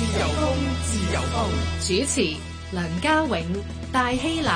自由風，自由風。主持梁家永、戴希立。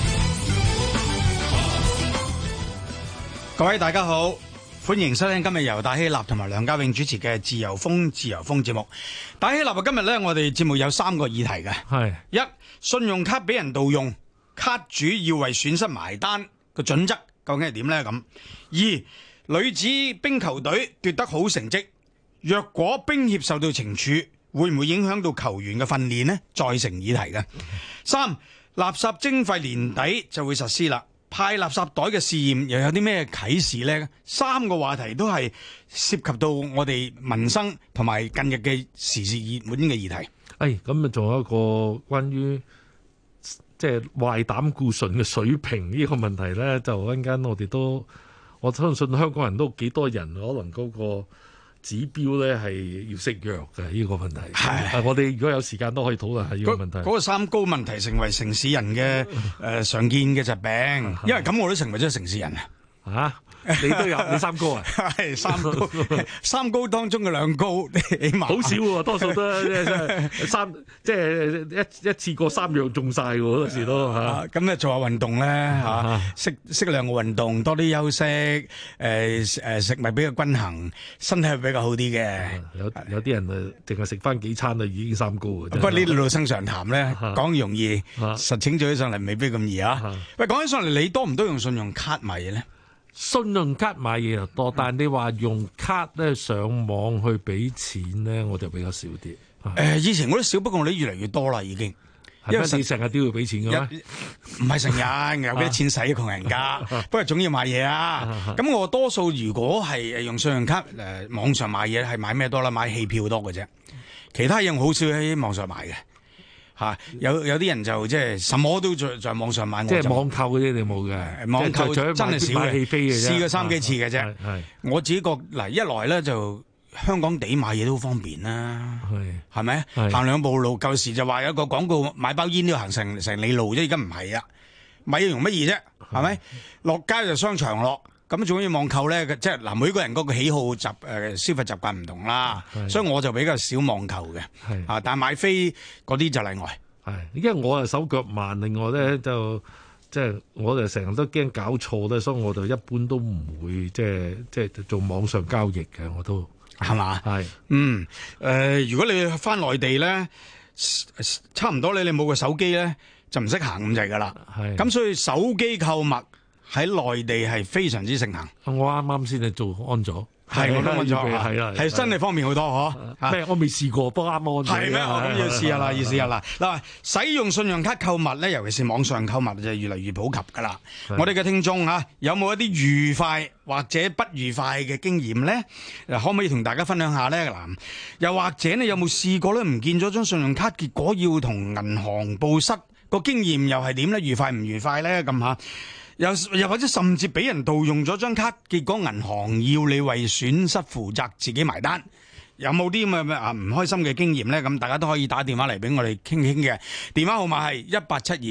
各位大家好，歡迎收聽今日由戴希立同埋梁家永主持嘅自由風節目。戴希立今日呢，我哋節目有3個議題嘅。係一，信用卡俾人盜用，卡主要為損失埋單個準則究竟係點呢？咁二，女子冰球隊奪得好成績，若果冰協受到懲處，會唔會影響到球員嘅訓練呢？再成議題嘅。三，垃圾徵費年底就會實施啦。派垃圾袋嘅試驗又有啲咩啟示呢？3個話題都係涉及到我哋民生同埋近日嘅時事熱門嘅議題。 咁啊，仲有一個關於即係壞膽固醇嘅水平呢個問題咧，就一陣間我相信香港人都幾多人可能嗰個指標咧係要食藥嘅呢個問題。係，我哋如果有時間都可以討論下呢個問題。 嗰個三高問題成為城市人嘅常見嘅疾病，因為咁我都成為咗城市人啊！ 你都有你三高啊？ 係三高當中嘅2高，起碼好少喎，多數都即係一次過3樣中晒喎，好多時都嚇。 咁咧做下運動咧嚇，適量嘅運動，多啲休息，食物比較均衡，身體係比較好啲嘅。 有啲人淨係食翻幾餐已經三高啊！ 不過呢度老生常談咧，講容易，實踐做起上嚟未必咁易啊！喂，講起上嚟，你多唔多用信用卡買嘢咧？ 信用卡買嘢就多，但係你話用卡咧上網去俾錢咧，我就比較少啲。 以前我都少，不過我哋越嚟越多啦，已經。 因為你成日都要俾錢嘅咩？ 唔係成日，有啲錢使窮人家，不過總要買嘢啊。咁我多數如果係用信用卡網上買嘢，係買咩多啦？買戲票多嘅啫，其他嘢我好少喺網上買嘅。有啲人就即係什麼都在網上買， 即係網購嗰啲你冇嘅， 網購真係少嘅，試過3幾次嘅啫。我自己覺嗱，一來咧就香港地買嘢都好方便啦，係咪？行2步路，舊時就話有個廣告買包煙都要行成里路啫，而家唔係啊，買嘢容乜易啫，係咪？落街就商場落。咁仲要網購咧，即係嗱，每個人嗰個喜好消費習慣唔同啦，所以我就比較少網購嘅，但係買飛嗰啲就例外。 因為我係手腳慢，另外咧就即係我就成日都驚搞錯咧，所以我就一般都唔會即係做網上交易嘅，我都係嘛？如果你翻內地咧，差唔多你冇個手機咧，就唔識行咁滯噶啦。咁所以手機購物喺內地係非常之盛行。 我啱啱先係做安咗， 我都安咗，係真係方便好多嗬。 咩？我未試過，不過啱安咗。 係咩？咁要試下啦，要試下啦。嗱，使用信用卡購物咧，尤其是網上購物就越嚟越普及噶啦。我哋嘅聽眾有冇一啲愉快或者不愉快嘅經驗咧？可唔可以同大家分享下咧？嗱，又或者你有冇試過咧唔見咗張信用卡，結果要同銀行報失，個經驗又係點咧？愉快唔愉快咧？咁吓？又或者甚至俾人盜用咗張卡，結果銀行要你為損失負責，自己埋單，有冇啲咁嘅唔開心嘅經驗呢？咁大家都可以打電話嚟俾我哋傾傾嘅，電話號碼係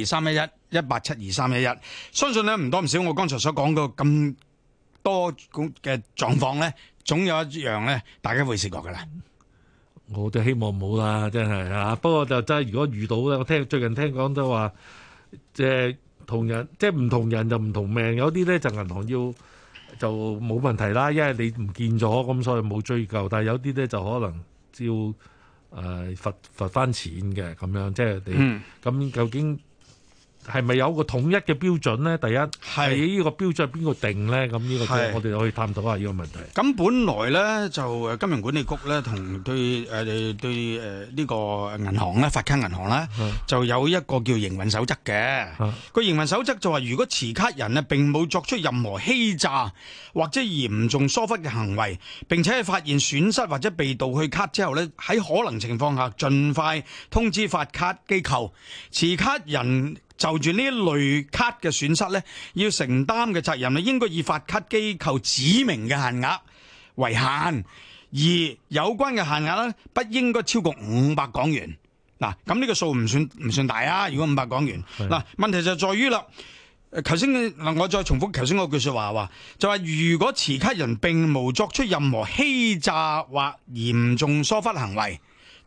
1872311，1872311。相信呢唔多唔少，我剛才所講嘅咁多嘅狀況呢，總有一樣呢，大家會試過噶啦。 我就希望冇啦，真係啊！不過就真係如果遇到咧，我最近聽講都話同人即係唔同人就唔同命，有啲咧就銀行就冇問題啦，因為你唔見咗咁，所以冇追究。但係有啲咧就可能要罰翻錢嘅咁樣，即係你咁究竟係咪有個統一嘅標準咧？第一係呢個標準係邊個定咧？咁呢個我哋可以探討下呢個問題。 咁本來咧就金融管理局咧同對呢個銀行咧發卡銀行咧就有一個叫營運守則嘅。個營運守則就話，如果持卡人啊並冇作出任何欺詐或者嚴重疏忽嘅行為，並且係發現損失或者被盜去卡之後咧，喺可能情況下盡快通知發卡機構，持卡人就住呢一類卡嘅損失咧，要承擔嘅責任咧，應該以發卡機構指明嘅限額為限，而有關嘅限額咧，不應該超過500港元。嗱，咁呢個數唔算大啊！如果500港元，嗱，問題就在於啦。頭先我再重複頭先嗰句說話，就話如果持卡人並無作出任何欺詐或嚴重疏忽行為，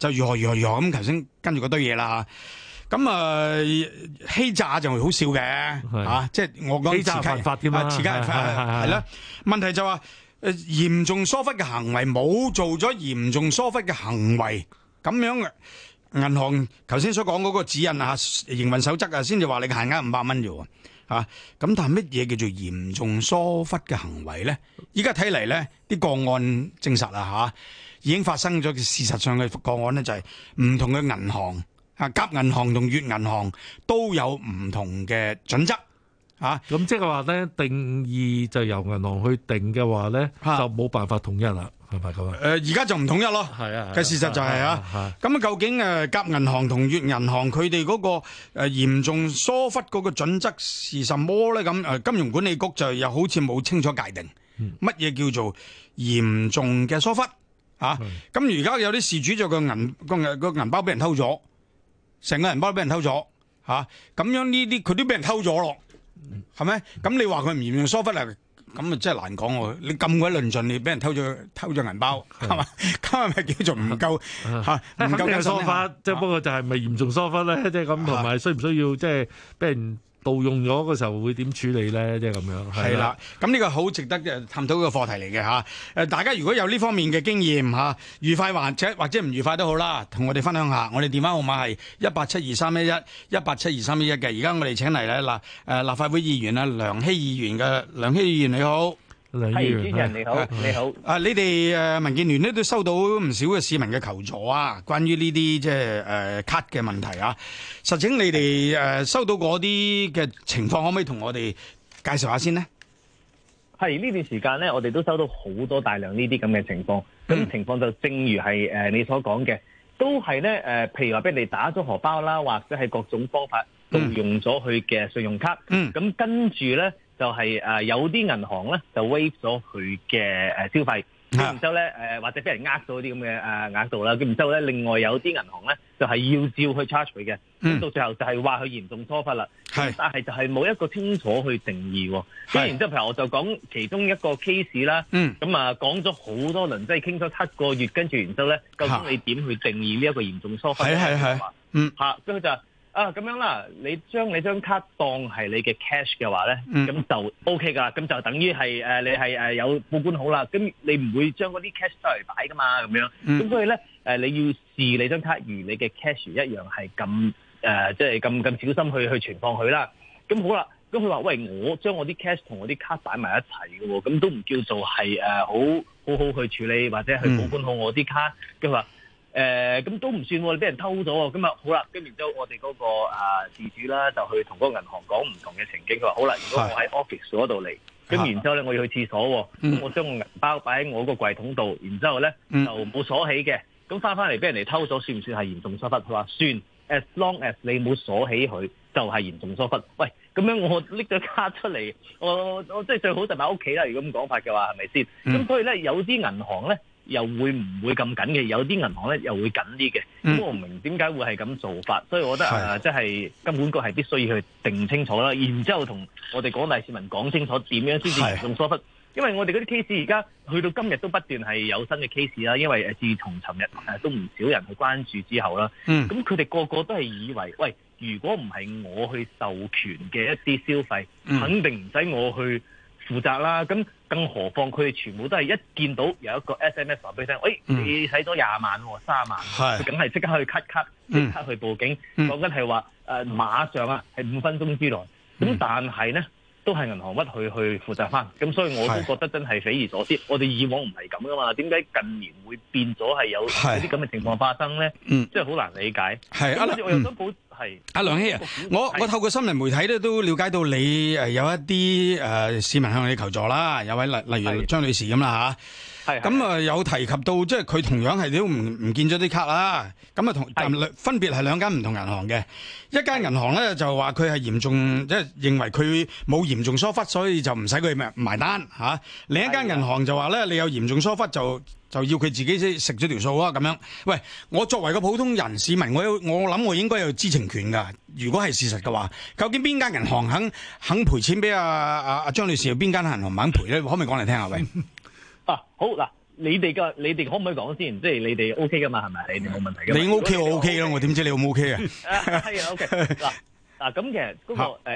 就如何咁，頭先跟住嗰堆嘢啦。咁欺詐就好笑嘅即係我講欺詐犯法添啦， 係啦。問題就話嚴重疏忽嘅行為冇做咗嚴重疏忽嘅行為，咁樣銀行頭先所講嗰個指引營運守則先至話你嘅限額500蚊啫喎咁但係乜嘢叫做嚴重疏忽嘅行為咧？依家睇嚟咧，啲個案證實啦已經發生咗。事實上嘅個案咧就係唔同嘅銀行。甲銀行同乙銀行都有唔同嘅準則咁即係話咧，定義就由銀行去定嘅話咧，就冇辦法統一啦，係咪咁而家就唔統一咯。嘅事實就係咁究竟甲銀行同乙銀行佢哋嗰個嚴重疏忽嗰個準則是什麼咧？咁金融管理局就又好似冇清楚界定乜嘢叫做嚴重嘅疏忽咁而家有啲事主就個銀包俾人偷咗。成個銀包都俾人偷咗咁樣呢啲佢都俾人偷咗咯，係咪？咁你話佢唔嚴重疏忽啊？咁啊真係難講喎！你咁鬼論盡，你俾人偷咗銀包，係嘛？咁係咪叫做唔夠唔夠嘅疏忽？ 即係不過就係咪嚴重疏忽咧？即係咁，同埋需唔需要即係俾人盜用咗嘅時候會點處理咧？即係咁樣。 係啦，咁呢個好值得探討嘅課題嚟嘅大家如果有呢方面嘅經驗愉快或者唔愉快都好啦，同我哋分享下。我哋電話號碼係1872311 1872311嘅。而家我哋請嚟咧立法會議員梁熙議員嘅。梁熙議員你好。 係，主持人你好，你好。 你哋民建聯咧都收到唔少嘅市民嘅求助關於呢啲即係卡嘅問題實情你哋收到嗰啲嘅情況，可唔可以同我哋介紹下先呢？ 係呢段時間咧，我哋都收到好多大量呢啲咁嘅情況。咁情況就正如係你所講嘅，都係咧譬如話俾人哋打咗荷包啦，或者係各種方法盜用咗佢嘅信用卡。咁跟住咧。就係有啲銀行咧就 waive 咗佢嘅消費，咁然之後咧或者俾人呃咗啲咁嘅額度啦，咁然之後咧另外有啲銀行咧就係要照去 charge 佢嘅，咁到最後就係話佢嚴重疏忽啦，但係就係冇一個清楚去定義喎。咁然之後譬如我就講其中一個 case 啦，咁講咗好多輪，即係傾咗7個月，跟住然之後咧，究竟你點去定義呢一個嚴重疏忽咧？咁佢就咁樣啦，你將你張卡當係你嘅 cash 嘅話咧，咁就 OK 噶，咁就等於係你係有報管好啦，咁你唔會將嗰啲 cash 出嚟擺噶嘛，咁樣，咁所以咧你要視你張卡如你嘅 cash 一樣係咁即係咁小心去存放佢啦。咁好啦，咁佢話喂，我將我啲 cash 同我啲卡擺埋一齊嘅喎，咁都唔叫做係好去處理或者去保管好我啲卡，佢話。咁都唔算喎，你俾人偷咗喎，咁好啦，跟住之後我哋嗰個事主啦，就去同嗰個銀行講唔同嘅情景，佢話好啦，如果我喺 office 嗰度嚟，咁然之後咧我要去廁所喎，咁我將個銀包擺喺我個櫃桶度，然之後咧就冇鎖起嘅，咁翻嚟俾人哋偷咗，算唔算係嚴重疏忽？佢話算 ，as long as 你冇鎖起佢，就係嚴重疏忽。喂，咁樣我拎咗卡出嚟，我即係最好就擺屋企啦。如果咁講法嘅話，係咪先？咁所以咧，有啲銀行咧。又會唔會咁緊嘅？有啲銀行咧又會緊啲嘅。咁我唔明點解會係咁做法，所以我覺得即係金管局係必須要去定清楚啦，然之後同我哋廣大市民講清楚點樣先至嚴重疏忽。因為我哋嗰啲 case 而家去到今日都不斷係有新嘅 case 啦，因為自從尋日都唔少人去關注之後啦，咁佢哋個個都係以為，喂，如果唔係我去授權嘅一啲消費，肯定唔使我去負責啦。咁更何況佢哋全部都係一見到有一個 SMS 話俾你聽，喂，你使咗20萬喎，30萬，佢梗係即刻去 cut 卡，即刻去報警。講緊係話馬上係5分鐘之內。咁但係咧都係銀行屈去負責翻。咁所以我都覺得真係匪夷所思。我哋以往唔係咁噶嘛，點解近年會變咗係有啲咁嘅情況發生咧？即係好難理解。我又想補。 阿梁熙我透過新聞媒體咧都了解到你有一啲市民向你求助啦，有位例如張女士咁啦嚇，咁有提及到即係佢同樣係都唔見咗啲卡啦，咁分別係2間唔同銀行嘅，一間銀行咧就話佢係嚴重即係認為佢冇嚴重疏忽，所以就唔使佢埋單嚇，另一間銀行就話咧你有嚴重疏忽就要佢自己食咗條數啊咁樣。喂，我作為個普通人市民，我諗我應該有知情權㗎。如果係事實嘅話，究竟邊間銀行肯賠錢俾阿張女士，邊間銀行唔肯賠咧？可唔可以講嚟聽下？喂， 好嗱， 你哋可唔可以講先？即係你哋 OK 噶嘛？係咪？你哋冇問題嘅。 你 OK 我 OK 咯，我點知你 O 唔 OK 啊？ 係啊 OK 嗱咁其實嗰個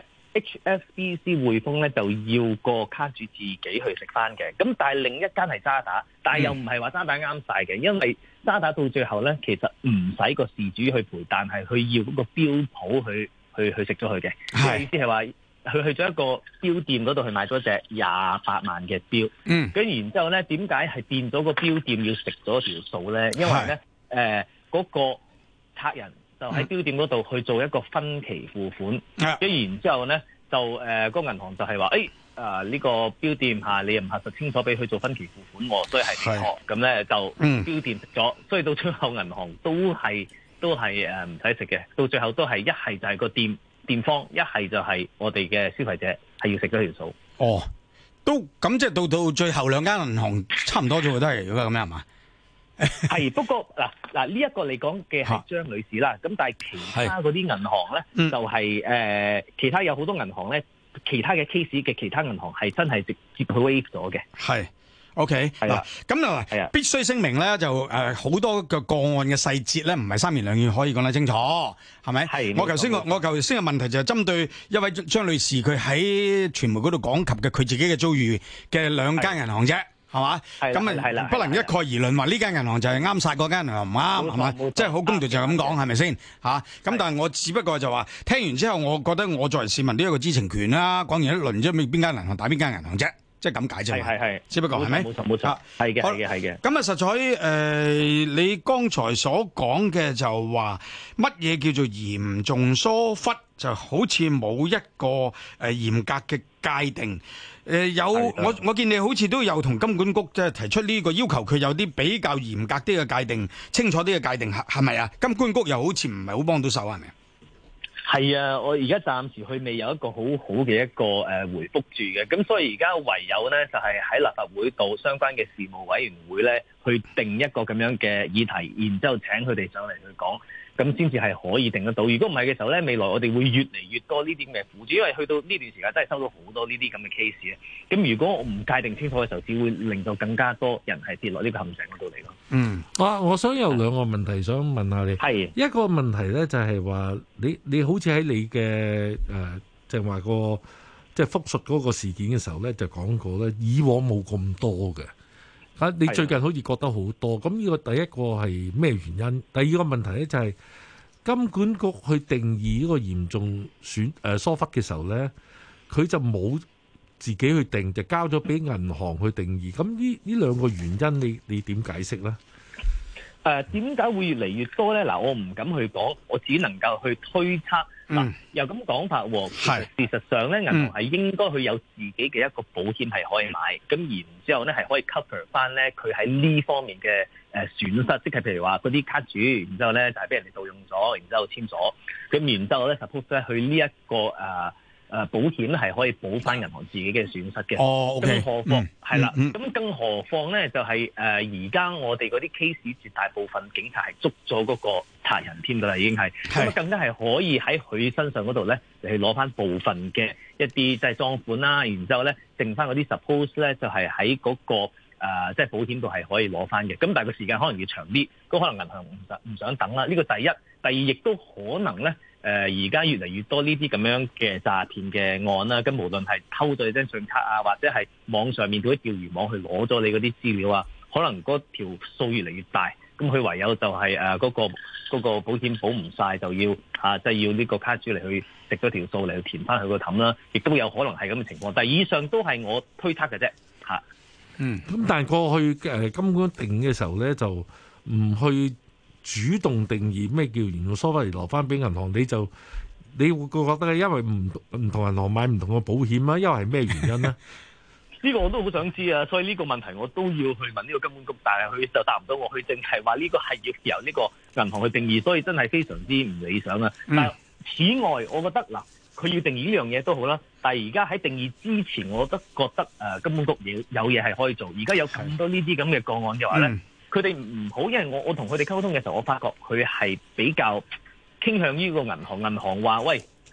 HSBC 匯豐咧就要個卡主自己去食翻嘅，咁但係另一間係渣打，但係又唔係話渣打啱晒嘅，因為渣打到最後咧其實唔使個事主去賠，但係佢要嗰個標普去食咗佢嘅。係意思係話佢去咗一個標店嗰度去買咗隻28萬嘅標，跟然之後咧點解係變咗個標店要食咗條數咧？因為咧嗰個客人就喺標店嗰度去做一個分期付款，跟然之後咧就個銀行就係話呢個標店你又唔核實清楚俾佢做分期付款喎，所以係你錯，咁咧就標店食咗，所以到最後銀行都係唔使食嘅，到最後都係一係就係個店方，一係就係我哋嘅消費者係要食咗條數。 哦，都咁即係到最後兩間銀行差唔多咗，都係如果咁樣係嘛？ 係，不過嗱呢一個你講嘅係張女士啦，咁但係其他嗰啲銀行咧，就係其他有好多銀行咧，其他嘅 case 嘅其他銀行係真係直接去 waive 咗嘅。係 OK 嗱，咁啊必須聲明咧，就好多嘅個案嘅細節咧，唔係三言兩語可以講得清楚，係咪？係。我頭先嘅問題就係針對一位張女士，佢喺傳媒嗰度講及嘅佢自己嘅遭遇嘅兩間銀行啫。係嘛？咁啊，不能一概而論話呢間銀行就係啱晒，嗰間銀行唔啱，係嘛？即係好公道就咁講，係咪先？咁但係我只不過就話聽完之後，我覺得我作為市民都有一個知情權啦。講完一輪啫，邊間銀行打邊間銀行啫，即係咁解啫嘛。係，只不過係咪？冇錯，係嘅。咁啊，實在你剛才所講嘅就話乜嘢叫做嚴重疏忽，就好似冇一個嚴格嘅界定。我見你好似都有同金管局即係提出呢個要求，佢有啲比較嚴格啲嘅界定，清楚啲嘅界定，係咪啊？金管局又好似唔係好幫到手，係咪啊？ 係啊，我而家暫時佢未有一個好好嘅一個回覆住嘅，咁所以而家唯有咧就係喺立法會度相關嘅事務委員會咧去定一個咁樣嘅議題，然之後請佢哋上嚟去講。咁先至係可以定得到。如果唔係嘅時候咧，未來我哋會越嚟越多呢啲咁嘅苦主，因為去到呢段時間真係收到好多呢啲咁嘅 case 咧。咁如果我唔界定清楚嘅時候，只會令到更加多人係跌落呢個陷阱嗰度嚟咯。 我想有兩個問題想問下你。係一個問題咧，就係話你好似喺你嘅就係話個即係複述嗰個事件嘅時候咧，就講過咧，以往冇咁多嘅。你最近好似覺得好多，咁呢個第一個係咩原因？第二個問題咧就係金管局去定義呢個嚴重疏忽嘅時候咧，佢就冇自己去定，就交咗俾銀行去定義。咁呢兩個原因你點解釋咧？ 點解會越嚟越多咧？嗱，我唔敢去講，我只能夠去推測。又咁講法喎，事實上咧，銀行係應該去有自己嘅一個保險係可以買，咁然之後咧係可以 cover 翻咧佢喺呢方面嘅損失，即係譬如話嗰啲卡主，然之後咧就係俾人哋盜用咗，然之後簽咗，咁然之後咧 suppose 咧佢呢一個保險咧係可以補翻銀行自己嘅損失嘅。更何況係啦，咁更何況咧就係而家我哋嗰啲 case 絕大部分警察係捉咗嗰個賊人添㗎啦，已經係咁更加係可以喺佢身上嗰度咧嚟去攞翻部分嘅一啲即係贓款啦，然之後咧剩翻嗰啲 suppose 咧就係喺嗰個即係保險度係可以攞翻嘅。咁但係個時間可能要長啲，咁可能銀行唔想等啦。呢個第一，第二亦都可能咧。而家越嚟越多呢啲咁樣嘅詐騙嘅案啦，咁無論係偷咗你張信卡啊，或者係網上面嗰啲釣魚網去攞咗你嗰啲資料啊，可能嗰條數越嚟越大，咁佢唯有就係嗰個保險保唔晒，就要即係要呢個卡主嚟去食咗條數嚟去填翻佢個氹啦，亦都有可能係咁嘅情況。但係以上都係我推測嘅啫。 咁但係過去金管局定嘅時候咧，就唔去主動定義咩叫嚴重疏忽嚟攞翻俾銀行，你會覺得因為唔同銀行買唔同嘅保險啊，因為係咩原因呢？ 呢個我都好想知啊，所以呢個問題我都要去問呢個金管局，但係佢就答唔到我，佢淨係話呢個係要由呢個銀行去定義，所以真係非常之唔理想啊。但係此外，我覺得嗱，佢要定義呢樣嘢都好啦，但係而家喺定義之前，我都覺得金管局有嘢係可以做。而家有咁多呢啲咁嘅個案嘅話咧。佢哋唔好，因為我同佢哋溝通嘅時候，我發覺佢係比較傾向於個銀行話，喂，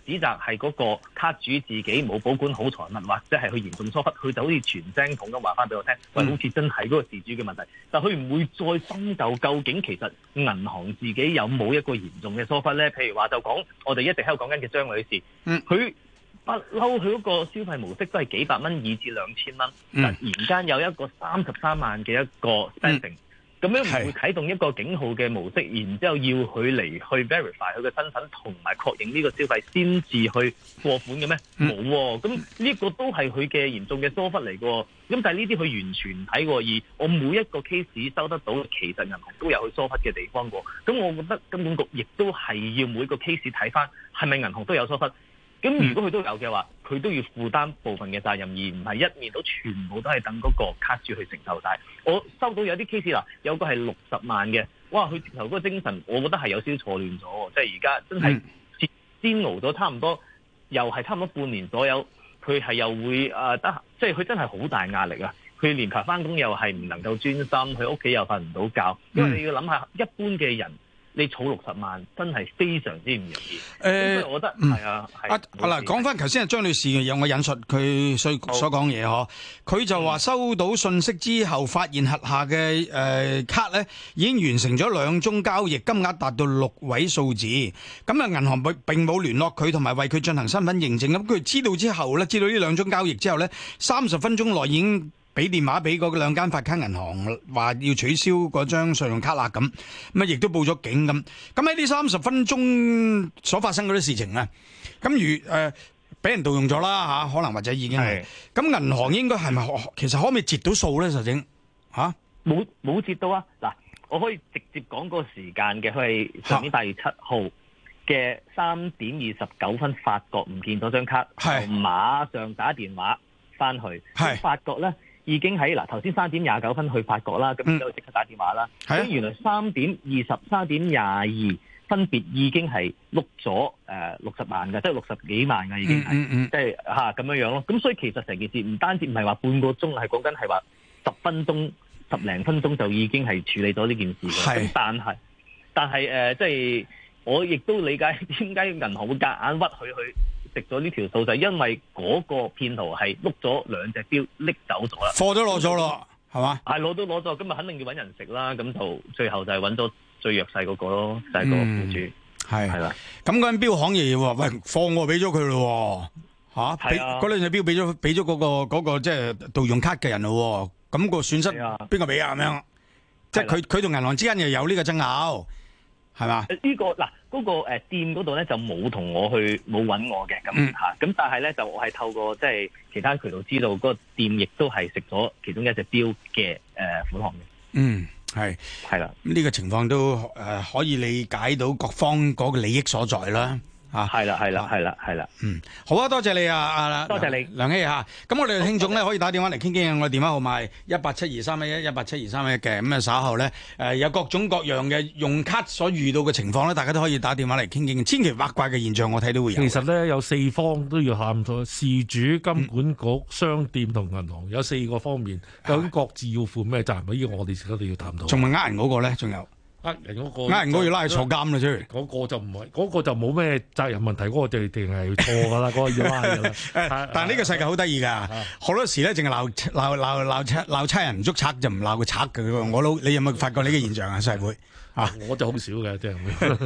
指責係嗰個卡主自己冇保管好財物，或者係佢嚴重疏忽，佢就好似傳聲筒咁話翻俾我聽，喂，好似真係嗰個事主嘅問題。但佢唔會再深究究竟其實銀行自己有冇一個嚴重嘅疏忽咧？譬如話就講我哋一直喺度講緊嘅張女士，佢不嬲佢嗰個消費模式都係幾百蚊以至2000蚊，突然間有一個33萬嘅一個 spending。咁樣唔會啟動一個警號嘅模式，然之後要佢嚟去 verify 佢嘅身份同埋確認呢個消費先至去過款嘅咩？冇喎，咁呢個都係佢嘅嚴重嘅疏忽嚟嘅。咁但係呢啲佢完全唔睇喎，而我每一個 case 收得到，其實銀行都有佢疏忽嘅地方喎。咁我覺得金管局亦都係要每個 case 睇翻係咪銀行都有疏忽。咁如果佢都有嘅話，佢都要負擔部分嘅責任，而唔係一面倒全部都係等嗰個卡主去承受晒。我收到有啲 case 啦，有個係60萬嘅，哇！佢直頭嗰個精神，我覺得係有少少錯亂咗，即係而家真係煎熬咗差唔多，又係差唔多半年左右，佢係又會即係佢真係好大壓力啊！佢連排翻工又係唔能夠專心，佢屋企又瞓唔到覺，因為你要諗下一般嘅人。你儲60萬真係非常之唔容易。所以我覺得係啊。 嗱，講翻頭先係張女士嘅嘢，我引述佢所講嘢嗬。佢就話收到信息之後，發現轄下嘅卡咧已經完成咗2宗交易，金額達到6位數字。咁啊，銀行並冇聯絡佢，同埋為佢進行身份認證。咁佢知道之後咧，知道呢2宗交易之後咧，30分鐘內已經俾電話俾嗰2間發卡銀行，話要取消嗰張信用卡啦，咁啊亦都報咗警咁。咁喺呢30分鐘所發生嗰啲事情咧，咁如俾人盜用咗啦嚇，可能或者已經係。咁銀行應該係咪其實可唔可以截到數咧？實情嚇冇截到啊！嗱，我可以直接講個時間嘅，佢係上年8月7號嘅3點29分發覺唔見咗張卡，就馬上打電話翻去，發覺咧。已經喺頭先3點29分去發覺啦，咁之後即刻打電話啦。咁原來3點20、3點22分別已經係碌咗60萬嘅，即係60幾萬嘅已經係，即係咁樣樣咯。咁所以其實成件事唔單止唔係話半個鐘，係講緊係話10分鐘、10零分鐘就已經係處理咗呢件事嘅。咁但係即係我亦都理解點解銀行會夾硬屈佢去食咗呢條數，就係因為嗰個騙徒係碌咗2隻錶拎走咗啦， 貨都攞咗咯，係嘛？ 係攞都攞咗，咁啊肯定要揾人食啦，咁就最後就係揾咗最弱勢嗰個咯，就係個僱主，係啦。 咁嗰間錶行爺話：喂，貨我俾咗佢咯，嚇，嗰2隻錶俾咗嗰個即係盜用卡嘅人咯，咁個損失邊個俾啊？咁樣，即係佢同銀行之間又有呢個爭拗。係嘛？呢個嗰個店嗰度咧就冇同我去冇揾我嘅咁咁但係咧就我係透過即係其他渠道知道嗰個店亦都係食咗其中一隻錶嘅款項嘅。係啦， 呢個情況都可以理解到各方嗰個利益所在啦。 係啦。 好啊，多謝你啊， 多謝你梁熙嚇。咁我哋嘅聽眾咧可以打電話嚟傾傾，我哋電話號碼1872311 1872311嘅。咁啊稍後咧有各種各樣嘅用卡所遇到嘅情況咧，大家都可以打電話嚟傾傾。千奇百怪嘅現象，我睇到會有。 其實咧有4方都要探討，事主、金管局、商店同銀行有4個方面，究竟各自要負咩責任？呢個我哋一定要探討。 仲問呃人嗰個咧？仲有？ 人嗰個人要拉去坐監啦，出嚟嗰個就唔係，嗰個就冇咩責任問題，嗰個就一定係錯噶啦，嗰個要拉噶啦。 但係呢個世界好得意噶，好多時咧淨係鬧差人唔捉賊，就唔鬧個賊嘅。你有冇發覺呢個現象啊？社會我就好少嘅，即係。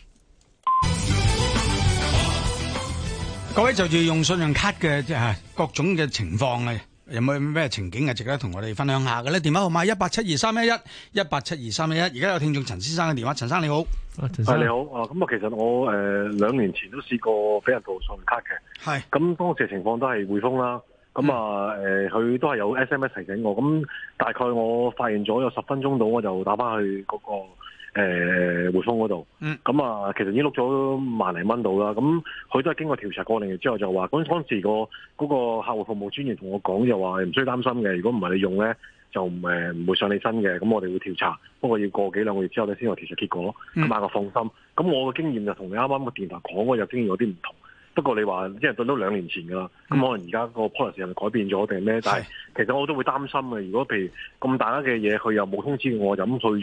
各位就住用信用卡嘅即係各種嘅情況咧。有冇咩情景係值得同我哋分享下嘅咧？電話號碼1872311 1872311。而家有聽眾陳先生嘅電話，陳生你好。 陳生你好。咁其實我2年前都試過俾人盜信用卡嘅。係。咁當時嘅情況都係匯豐啦。咁佢都係有 SMS 提醒我。咁大概我發現咗有10分鐘到，我就打翻去嗰個匯豐嗰度。咁其實已經碌咗萬零蚊到啦。咁佢都係經過調查過嚟之後就話，嗰陣時嗰個客戶服務專員同我講就話唔需要擔心嘅，如果唔係你用咧就唔會上你身嘅。咁我哋會調查，不過要過幾兩個月之後咧先有調查結果。咁大家放心。咁我嘅經驗就同你啱啱個電台講嗰個經驗有啲唔同。不過你話即係對到2年前㗎啦，咁可能而家個 policy 係咪改變咗定係咩？但係其實我都會擔心嘅。如果譬如咁大家嘅嘢，佢又冇通知我，就咁去咗，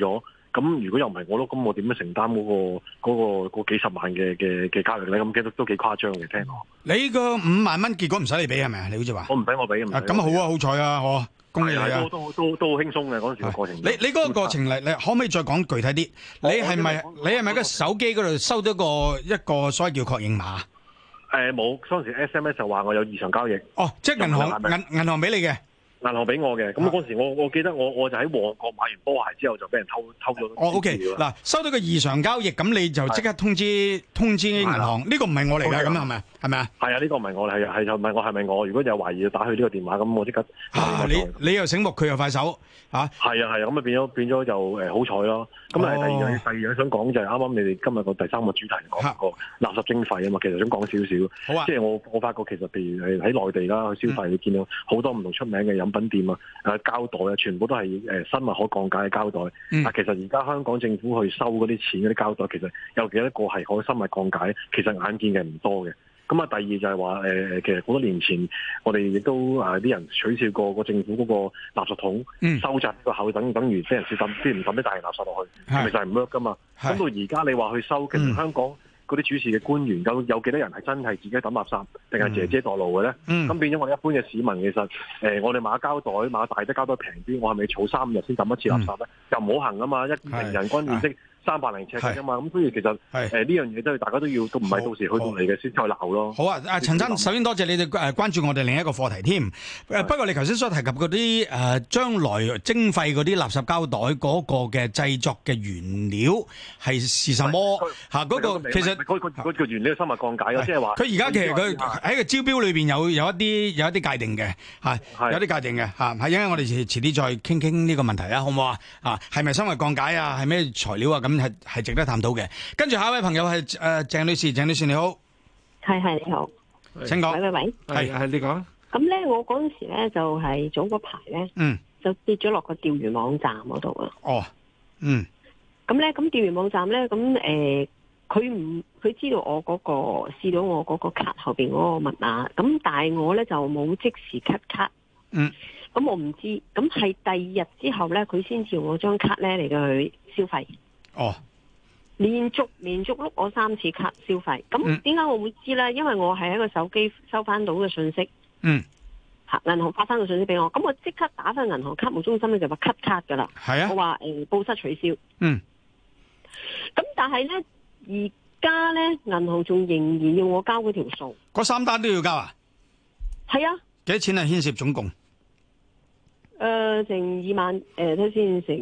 咁如果又唔係我咯，咁我點樣承擔嗰幾十萬嘅交易咧？咁都幾誇張嘅，聽講。 你個5萬蚊結果唔使你俾係咪啊？你好似話我唔使我俾咁好啊，好彩啊，我恭喜你啊！ 都好輕鬆嘅嗰陣時個過程。 你嗰個過程你可唔可以再講具體啲？你係咪喺個手機嗰度收到一個所謂叫確認碼？ 冇，嗰陣時 SMS 就話我有異常交易。 哦，即係銀行俾你嘅。 銀行俾我嘅，咁嗰時我記得我就喺旺角買完波鞋之後就俾人偷咗。 哦 ，OK， 嗱，收到個異常交易，咁你就即刻通知銀行，呢個唔係我嚟㗎，咁係咪？係咪啊？係啊， 呢個唔係我，係就問我係咪我？如果有懷疑就打去呢個電話，咁我即刻。 你又醒目，佢又快手，嚇。係啊，咁啊變咗就好彩咯。咁第二樣想講就係啱啱你哋今日個第3個主題講個垃圾徵費啊嘛，其實想講少少。好啊。即係我發覺其實譬如喺內地啦去消費，你見到好多唔同出名嘅飲品店啊，膠袋啊，全部都係生物可降解嘅膠袋。但其實而家香港政府去收嗰啲錢嗰啲膠袋，其實有幾多個係可生物降解？其實眼見嘅唔多嘅。咁啊，第二就係話其實好多年前我哋亦都啲人取笑過個政府嗰個垃圾桶收窄個口，等於非人少抌，啲唔抌啲大型垃圾落去，係咪就係唔 work 噶嘛？咁到而家你話去收，其實香港嗰啲主事嘅官員有幾多人係真係自己抌垃圾，定係姐姐墮路嘅咧？咁變咗我哋一般嘅市民，其實我哋買膠袋買大啲膠袋平啲，我係咪儲3日先抌一次垃圾咧？又唔好行啊嘛！一平人均面積300尺嘅嘛，咁所以其實呢樣嘢都係大家都唔係到時去到嚟嘅先再鬧咯。 好啊，陳生，首先多謝你哋關注我哋另一個課題添。不過你頭先所提及嗰啲將來徵費嗰啲垃圾膠袋嗰個嘅製作嘅原料係什麼？嗰個其實嗰個原料係生物降解嘅，即係話佢而家其實佢喺個招標裏邊有一啲界定嘅，有啲界定嘅嚇。係因為我哋遲啲再傾呢個問題啊，好唔好啊？係咪生物降解啊？係咩材料啊？咁係值得探討嘅。跟住下一位朋友係鄭女士，鄭女士你好， 係你好， 請講。 喂， 係你講。 咁咧，我嗰陣時咧就係早嗰排咧，就跌咗落個釣魚網站嗰度啊。 哦， 咁咧，咁釣魚網站咧，咁佢知道我嗰個試到我嗰個卡後邊嗰個密碼，咁但係我咧就冇即時 cut 卡。咁我唔知，咁係第2日之後咧，佢先至用我張卡咧嚟到去消費。 哦， 連續碌我3次卡消費，咁點解我會知咧？因為我係喺個手機收翻到嘅信息，銀行發翻個信息俾我，咁我即刻打翻銀行卡務中心咧就話 cut 卡噶啦。係啊，我話報失取消。咁但係咧，而家咧銀行仲仍然要我交嗰條數， 嗰3單都要交啊？ 係啊。 幾多錢啊？牽涉總共？ 成2萬，睇先，成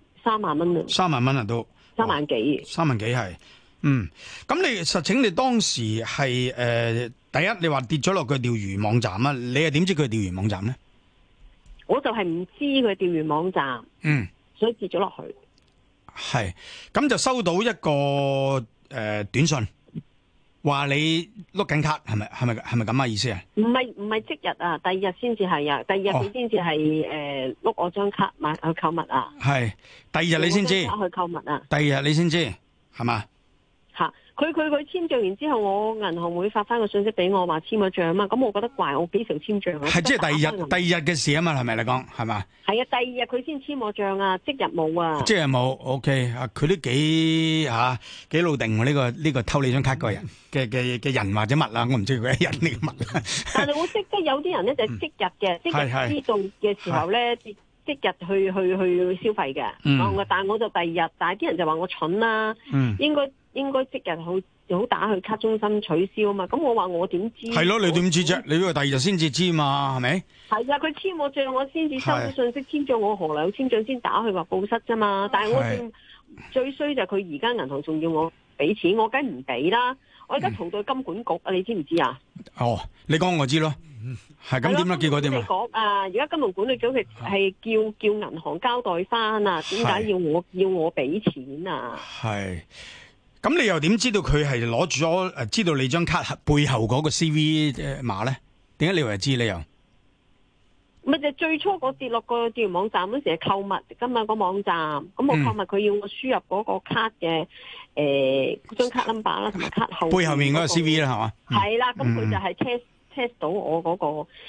3萬蚊啊！3萬蚊啊，都 3萬幾 ？3萬幾係，咁你實情你當時係第一，你話跌咗落個釣魚網站啊？你又點知佢係釣魚網站咧？ 我就係唔知佢釣魚網站，所以跌咗落去。係， 咁就收到一個短信。話你碌緊卡係咪咁啊意思啊？唔係即日啊，第2日先至係啊，第2日佢先至係碌我張卡買去購物啊。係第2日你先知去購物啊？第2日你先知係嘛？吓，佢簽賬完之後，我銀行會發翻個信息俾我話簽咗賬啊嘛。咁我覺得怪，我幾時簽賬啊？係即係第二日嘅事啊嘛，係咪你講係嘛？係啊，第2日佢先簽我賬啊，即日冇啊。即日冇 ，OK 啊，佢都幾老定喎，呢個偷你張卡嗰個人嘅人或者物啊，我唔知佢係人定物啊。但係我識得有啲人咧就係即日嘅，即日知道嘅時候咧，即日去消費嘅。但係我就第2日，但係啲人就話我蠢啦，應該即日好打去卡中心取消啊嘛，咁我話我點知？係咯，你點知啫？你以為第2日先至知嘛，係咪？係啊，佢簽我賬，我先至收到信息，簽賬我何來有簽賬先打去話報失啫嘛？但係我最衰就係佢而家銀行仲要我俾錢，我梗唔俾啦！我而家逃到金管局啊，你知唔知啊？哦，你講我知咯，係咁點啊？結果點啊？你講啊，而家金融管理局係叫銀行交代翻啊，點解要我俾錢啊？係。咁你又點知道佢係攞住咗知道你張卡背後嗰個 CV 碼咧？點解你會知你又？咪就最初我跌落個釣魚網站嗰時係購物㗎嘛，個網站，咁我購物佢要我輸入嗰個卡嘅張卡 number 啦，同埋卡後背後面嗰個 CV 啦，係嘛？係啦，咁佢就係 test 到我嗰個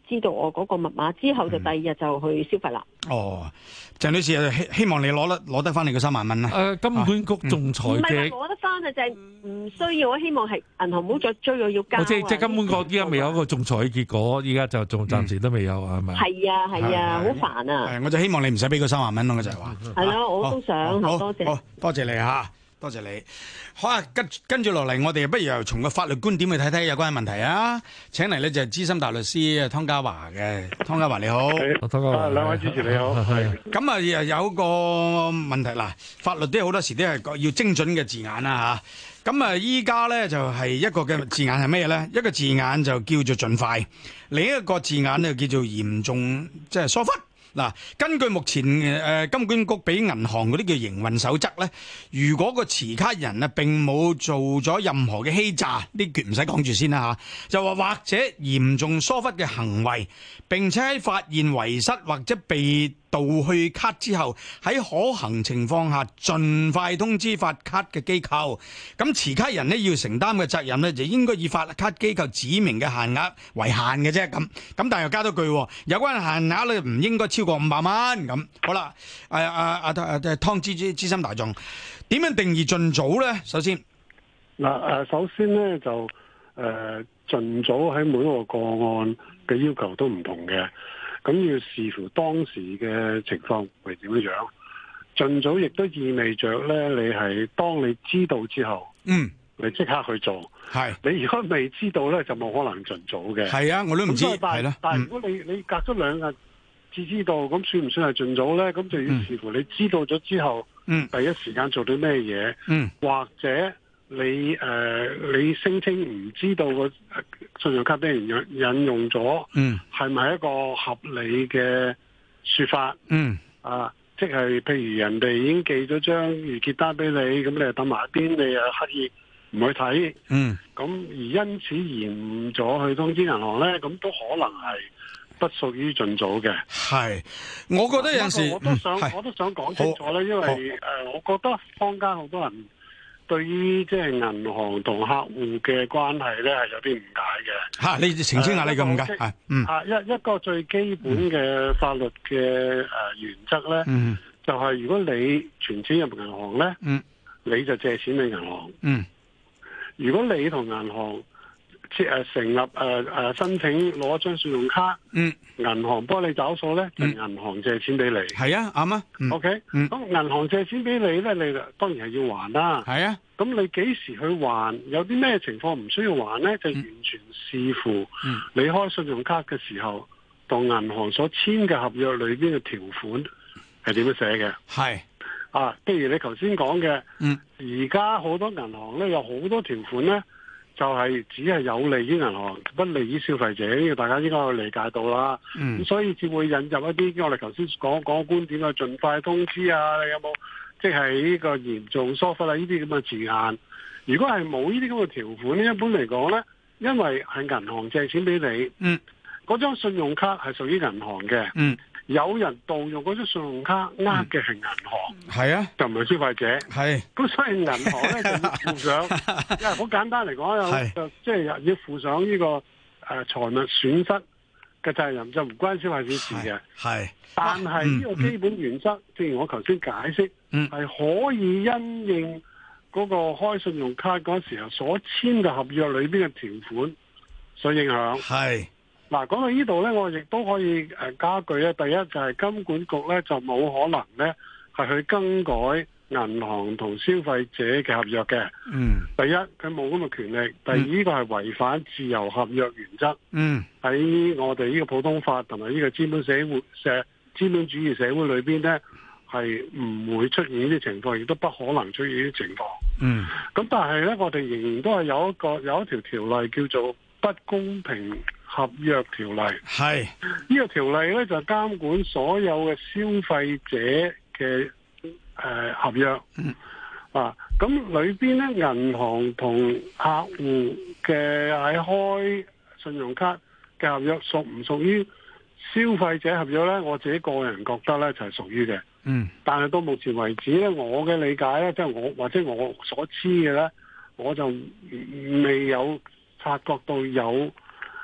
知道我嗰個密碼之後，就第二日就去消費啦。 哦，鄭女士希望你攞得翻你個3萬蚊啦。 金管局仲裁嘅， 唔係攞得翻啊，就係唔需要。我希望係銀行唔好再追我要交。 即係金管局依家未有一個仲裁嘅結果，依家就仲暫時都未有，係咪？ 係啊係啊，好煩啊！ 我就希望你唔使俾個3萬蚊咯，就係話。 係咯，我都想，多謝。 好，多謝你嚇。多謝你。好啊，跟住落嚟，我哋不如又從個法律觀點去睇睇有關嘅問題啊！請嚟呢就係資深大律師湯家驊嘅，湯家驊你好， 湯家驊， 兩位主持你好。 咁啊，又有個問題嗱，法律都好多時都係要精準嘅字眼啦嚇。咁啊，依家呢就係一個嘅字眼係咩呢？一個字眼就叫做盡快，另一個字眼呢叫做嚴重，即係疏忽。嗱，根據目前金管局俾銀行嗰啲叫營運守則咧，如果個持卡人啊並冇做咗任何嘅欺詐，呢橛唔使講住先啦嚇，就話或者嚴重疏忽嘅行為，並且喺發現遺失或者被盜去卡之後，喺可行情況下盡快通知發卡嘅機構。咁持卡人呢要承擔嘅責任呢，就應該以發卡機構指明嘅限額為限嘅啫。咁但係又加多句，有關限額咧唔應該超過500蚊。咁好啦，湯資深大眾點樣定義盡早咧？首先首先咧就盡早喺每一個個案嘅要求都唔同嘅。咁要視乎當時嘅情況係點樣。盡早亦都意味着咧，你係當你知道之後，你即刻去做。係你如果未知道咧，就冇可能盡早嘅。係啊，我都唔知。係啦，但係如果你隔咗2日至知道，咁算唔算係盡早咧？咁就要視乎你知道咗之後，第一時間做啲咩嘢，或者你聲稱唔知道個信用卡俾人引用咗，係咪一個合理嘅說法？即係譬如人哋已經寄咗張預結單俾你，咁你又等埋一邊，你又刻意唔去睇，咁而因此延誤咗去通知銀行咧，咁都可能係不屬於盡早嘅。係，我覺得有陣時我都想講清楚咧，因為我覺得坊間好多人對於即係銀行同客戶嘅關係咧係有啲誤解嘅。嚇，你澄清下你嘅誤解。一個最基本嘅法律嘅原則咧，就係如果你存錢入銀行咧，你就借錢俾銀行。如果你同銀行成立申請攞一張信用卡，銀行幫你找數咧，就銀行借錢俾你。係啊，啱啊。OK，咁銀行借錢俾你咧，你當然係要還啦。係啊，咁你幾時去還？有啲咩情況唔需要還咧？就完全視乎你開信用卡嘅時候，同銀行所簽嘅合約裏邊嘅條款係點樣寫嘅。係譬如你頭先講嘅，而家好多銀行咧有好多條款咧，就係只係有利於銀行，不利於消費者，呢個大家應該有理解到啦。咁所以至會引入一啲我哋頭先講嘅觀點，盡快通知啊，你有冇即係呢個嚴重疏忽啊呢啲咁嘅字眼？如果係冇呢啲咁嘅條款咧，一般嚟講咧，因為係銀行借錢俾你，嗰張信用卡係屬於銀行嘅。有人盜用嗰張信用卡呃嘅係銀行，係啊，就唔係消費者，係。咁所以銀行咧就要負上，因為好簡單嚟講，就即係要負上呢個財物損失嘅責任，就唔關消費者事嘅。係。但係呢個基本原則，正如我頭先解釋，係可以因應嗰個開信用卡嗰時候所簽嘅合約裏邊嘅條款所影響。係。嗱，講到呢度咧，我亦都可以加句咧。第一就係金管局咧就冇可能咧係去更改銀行同消費者嘅合約嘅。第一佢冇咁嘅權力。第二呢個係違反自由合約原則。喺我哋呢個普通法同埋呢個資本主義社會裏邊咧，係唔會出現呢啲情況，亦都不可能出現呢啲情況。咁但係咧，我哋仍然都係有一條條例叫做不公平合約條例。係呢個條例咧就監管所有嘅消費者嘅合約。咁裏邊咧銀行同客戶嘅喺開信用卡嘅合約屬唔屬於消費者合約咧？我自己個人覺得咧就係屬於嘅。但係到目前為止咧，我嘅理解咧，即係我或者我所知嘅咧，我就未有察覺到有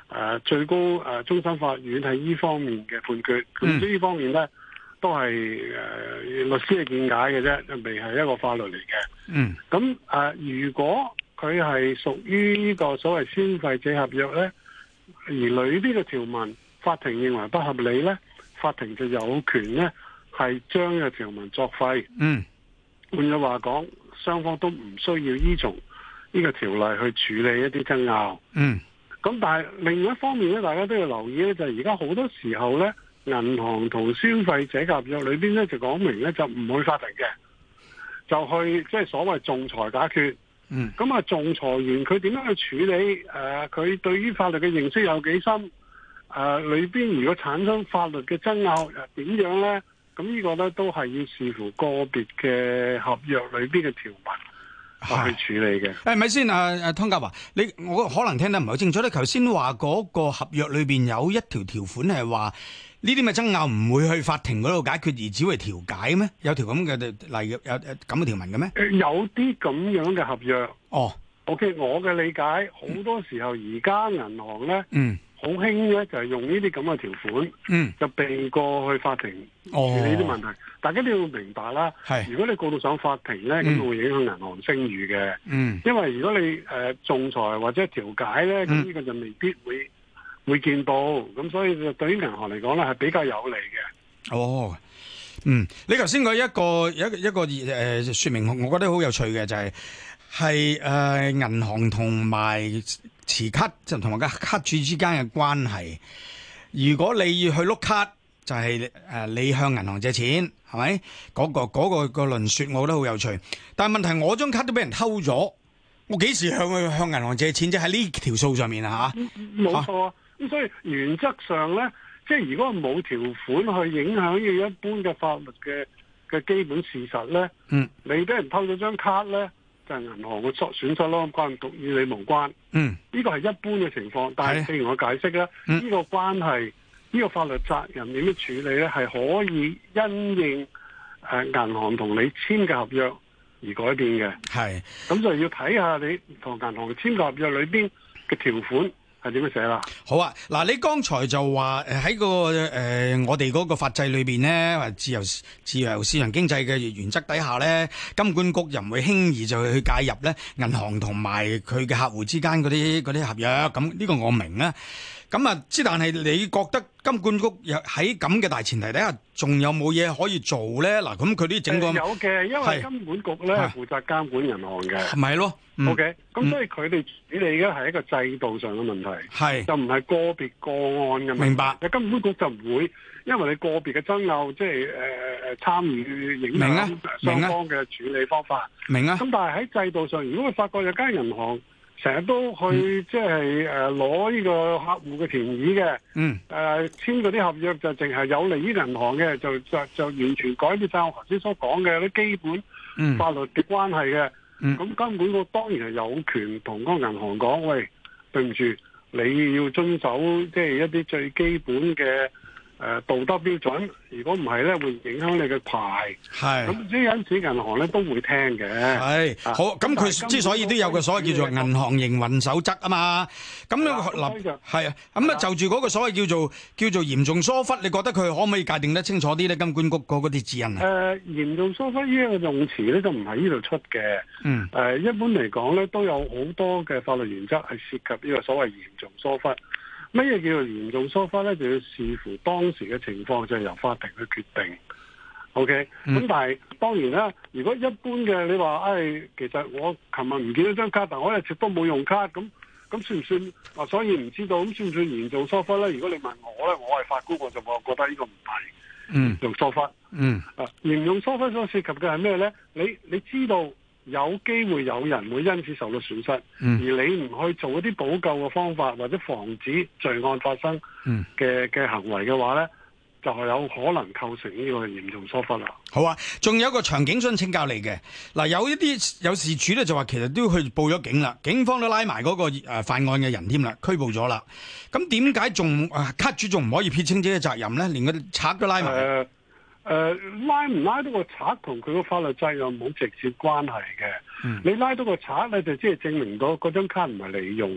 最高終審法院喺呢方面嘅判決。咁呢方面咧都係律師嘅見解嘅啫，未係一個法律嚟嘅。咁如果佢係屬於呢個所謂消費者合約咧，而裏邊嘅條文法庭認為不合理咧，法庭就有權咧係將呢個條文作廢。換句話講，雙方都唔需要依從呢個條例去處理一啲爭拗。咁但係另一方面咧，大家都要留意咧，就係而家好多時候咧，銀行同消費者合約裏邊咧就講明咧就唔去法庭嘅，就去即係所謂仲裁解決。咁仲裁員佢點樣去處理？佢對於法律嘅認識有幾深？裏邊如果產生法律嘅爭拗，點樣咧？咁呢個咧都係要視乎個別嘅合約裏邊嘅條文去處理嘅。 係咪先？湯家驊，我可能聽得唔係好清楚咧。頭先話嗰個合約裏邊有一條條款係話呢啲嘅爭拗唔會去法庭嗰度解決，而只會調解咩？有條咁嘅例，有咁嘅條文嘅咩？ 有啲咁樣嘅合約。OK， 我嘅理解好多時候而家銀行咧，好興咧就係用呢啲咁嘅條款，就避過去法庭處理啲問題。大家都要明白啦。如果你告到上法庭咧，咁會影響銀行聲譽嘅。因為如果你仲裁或者調解咧，咁呢個就未必會見到。咁所以對於銀行嚟講咧，係比較有利嘅。 你頭先嗰一個說明，我覺得好有趣嘅就係銀行同埋持卡就同埋個卡主之間嘅關係。如果你要去碌卡，就係你向銀行借錢，係咪？嗰個論說，我覺得好有趣。但係問題，我張卡都俾人偷咗，我幾時向銀行借錢啫？喺呢條數上面啊， 冇錯啊。咁所以原則上咧，即係如果冇條款去影響呢一般嘅法律嘅基本事實咧，你俾人偷咗張卡咧，就係銀行嘅損失咯，與你無關。呢個係一般嘅情況，但係正如我解釋咧，呢個關係，呢個法律責任點樣處理咧，係可以因應銀行同你簽嘅合約而改變嘅。咁就要睇下你同銀行簽嘅合約裏邊嘅條款係點樣寫啦？ 好啊，嗱，你剛才就話喺個我哋嗰個法制裏邊咧，或自由市場經濟嘅原則底下咧，金管局又唔會輕易就去介入咧銀行同埋佢嘅客戶之間嗰啲合約，咁呢個我明啊。咁啊，但係你覺得金管局喺咁嘅大前提底下，仲有冇嘢可以做咧？嗱，咁佢啲整個有嘅，因為金管局咧係負責監管銀行嘅， 係咪咯 ？OK，咁所以佢哋處理嘅係一個制度上嘅問題，就唔係個別個案嘅問題。明白。金管局就唔會，因為你個別嘅爭拗，即係參與影響雙方嘅處理方法。明啊。咁但係喺制度上，如果佢發覺有間銀行成日都去即係攞呢個客戶嘅權益嘅，簽嗰啲合約就淨係有利於銀行嘅，就完全改變晒我頭先所講嘅啲基本法律嘅關係嘅。咁金管局當然係有權同嗰個銀行講，喂，對唔住，你要遵守即係一啲最基本嘅道德標準，如果唔係咧，會影響你嘅牌。咁即係因此，銀行咧都會聽嘅。 好，咁佢之所以都有個所謂叫做銀行營運守則啊嘛。咁樣係啊。咁啊，就住嗰個所謂叫做嚴重疏忽，你覺得佢可唔可以界定得清楚啲咧？金管局嗰啲指引啊？ 嚴重疏忽呢一個用詞咧，就唔喺呢度出嘅。一般嚟講咧，都有好多嘅法律原則係涉及呢個所謂嚴重疏忽。乜嘢叫做嚴重疏忽咧？就要視乎當時嘅情況，就係由法庭去決定。OK，咁但係當然啦，如果一般嘅你話，其實我琴日唔見咗張卡，但我一直都冇用卡，咁算唔算？所以唔知道，咁算唔算嚴重疏忽咧？如果你問我咧，我係法官，我就覺得呢個唔係嚴重疏忽。嚴重疏忽所涉及嘅係咩咧？你知道有機會有人會因此受到損失，而你唔去做一啲補救嘅方法，或者防止罪案發生嘅行為嘅話咧，就係有可能構成呢個嚴重疏忽啦。 好啊，仲有一個場景想請教你嘅。嗱，有事主咧就話其實都去報咗警啦，警方都拉埋嗰個犯案嘅人添啦，拘捕咗啦。咁點解仲卡主仲唔可以撇清自己嘅責任咧？連個賊都拉埋。 拉唔拉到個賊同佢個法律責任冇直接關係嘅。你拉到個賊咧，就即係證明到嗰張卡唔係你用，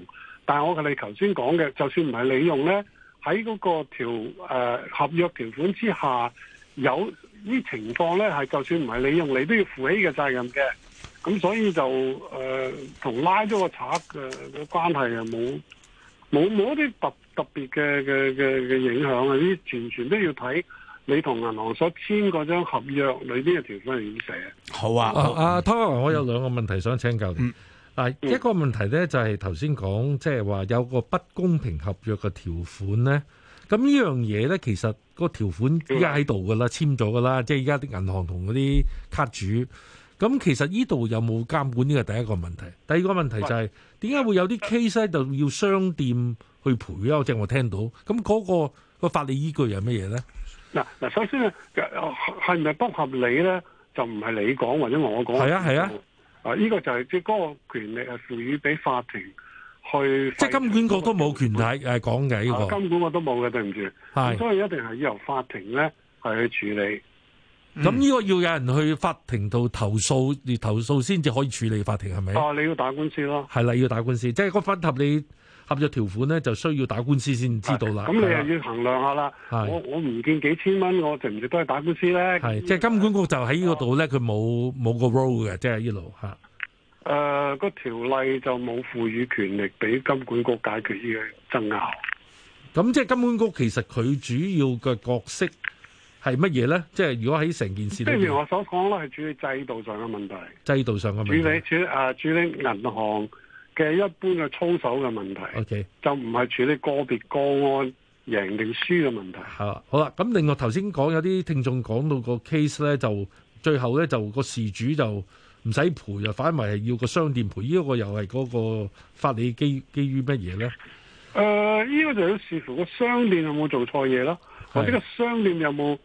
但係我哋頭先講嘅，就算唔係你用咧，喺嗰個合約條款之下，有啲情況咧係就算唔係你用，你都要負起嘅責任嘅。咁所以就同拉咗個賊嘅關係啊，冇一啲特別嘅影響啊！呢啲全都要睇你同銀行所簽嗰張合約裏邊嘅條款係點寫。 好啊， 湯家驊，我有兩個問題想請教你。一個問題咧就係頭先講，即係話有個不公平合約嘅條款咧。咁呢樣嘢咧，其實個條款依家喺度噶啦，簽咗噶啦，即係依家啲銀行同嗰啲卡主。咁其實呢度有冇監管？呢個第一個問題。第二個問題就係點解會有啲 case 咧，就要商店去賠咧？即係我聽到。咁嗰個法理依據係乜嘢咧？ 嗱，首先咧，係咪不合理咧？就唔係你講或者我講。係啊。 呢個就係即係嗰個權力係賦予俾法庭去。即係金管局都冇權力講嘅呢個。 金管局都冇嘅，對唔住。係。所以一定係由法庭咧係去處理。 咁呢個要有人去法庭度投訴，而投訴先至可以處理法庭係咪？ 你要打官司咯。係啦，要打官司，即係個不合理合約條款咧，就需要打官司先知道啦。 咁你又要衡量下啦。我唔見幾千蚊，我值唔值得去打官司咧？ 係，即係金管局就喺呢個度咧，佢冇個 role 嘅，即係呢度嚇。 個條例就冇賦予權力俾金管局解決呢個爭拗。 咁即係金管局其實佢主要嘅角色係乜嘢咧？即係如果喺成件事， 正如我所講啦，係處理制度上嘅問題。 制度上嘅問題。 處理銀行嘅一般嘅操守嘅問題。 OK， 就唔係處理個別個案贏定輸嘅問題。 好啦，咁另外頭先講有啲聽眾講到個 case 咧，就最後咧就個事主就唔使賠，反為係要個商店賠。呢個又係嗰個法理基於乜嘢咧？ 呢個就要視乎個商店有冇做錯嘢咯，或者個商店有冇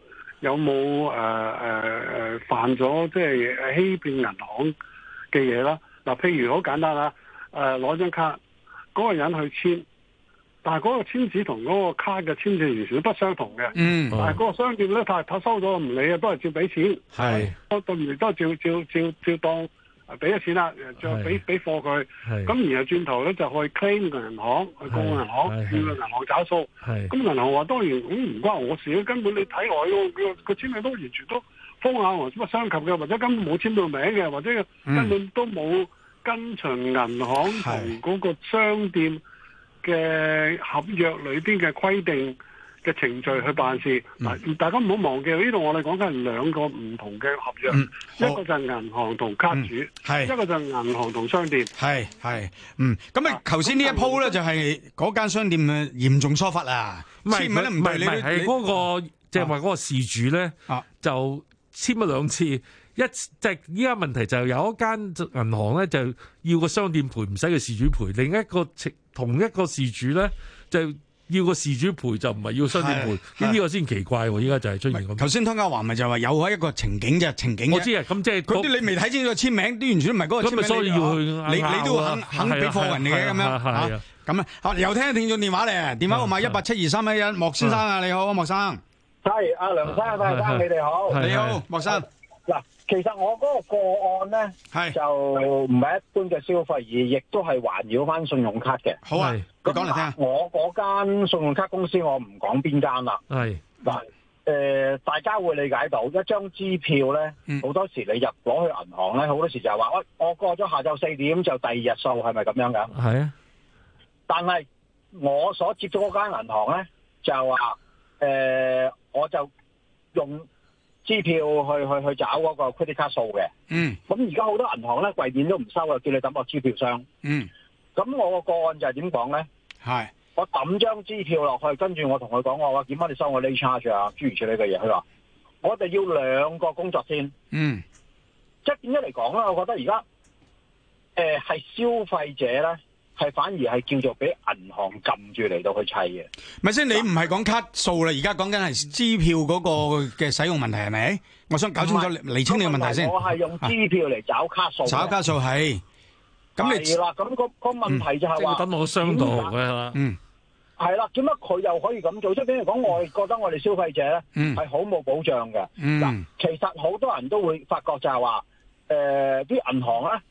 犯咗即係欺騙銀行嘅嘢啦。嗱，譬如好簡單啦，攞張卡，嗰個人去簽，但係嗰個簽字同嗰個卡嘅簽字完全都不相同嘅。但係嗰個商店咧，佢收咗唔理啊，都係照俾錢。都對唔住，都係照當俾咗錢啦，再俾貨佢。咁然後轉頭咧就去 claim 個銀行，去告銀行，叫個銀行找數。咁銀行話當然唔關我事，根本你睇我個簽名都完全都風眼和不相及嘅，或者根本冇簽到名嘅，或者根本都冇跟隨銀行同嗰個商店嘅合約裏邊嘅規定嘅程序去辦事。大家唔好忘記呢度我哋講緊係兩個唔同嘅合約，一個就係銀行同卡主，一個就係銀行同商店。 咁啊，頭先呢一鋪咧就係嗰間商店嘅嚴重疏忽啊！ 唔係係嗰個即係話嗰個事主咧就簽咗兩次。即係依家問題就有一間銀行咧就要個商店賠，唔使個事主賠；另一個同一個事主咧就要個事主賠，就唔係要商店賠。呢個先奇怪喎！依家就係出現咁。頭先湯家驊咪就話有一個情景啫，情景。 我知啊，咁即係嗰啲你未睇清楚簽名，啲完全都唔係嗰個簽名。 咁所以要去你都肯俾貨人哋嘅咁樣咁啊！又聽聽眾電話嚟，電話號碼1872311，莫先生啊，你好，莫生。 係阿梁生、戴生，你哋好。 你好，莫生。 嗱，其實我嗰個個案咧，就唔係一般嘅消費，而亦都係環繞翻信用卡嘅。 好啊，咁講嚟聽。 我嗰間信用卡公司，我唔講邊間啦。 係嗱，大家會理解到一張支票咧，好多時你攞去銀行咧，好多時就係話我過咗下晝4點就第二日數，係咪咁樣㗎？ 係啊。 但係我所接觸嗰間銀行咧，就話我就用支票去找嗰個 credit card 數嘅。咁而家好多銀行咧櫃面都唔收啊，叫你抌落支票箱。咁我個案就係點講咧？ 係我抌張支票落去，跟住我同佢講，我話點解你收我 late charge 啊？諸如此類嘅嘢，佢話我哋要2個工作先。即係點解嚟講咧？我覺得而家係消費者咧。係反而係叫做俾銀行撳住嚟到去砌嘅。 咪先，你唔係講卡數啦，而家講緊係支票嗰個嘅使用問題係咪？我想搞清楚釐清你嘅問題先。 我係用支票嚟找卡數。 找卡數係。咁你係啦，咁個問題就係話， 等我商道嘅啦。 係啦，點解佢又可以咁做？即係比如講，我覺得我哋消費者咧係好冇保障嘅。嗱，其實好多人都會發覺就係話，啲銀行咧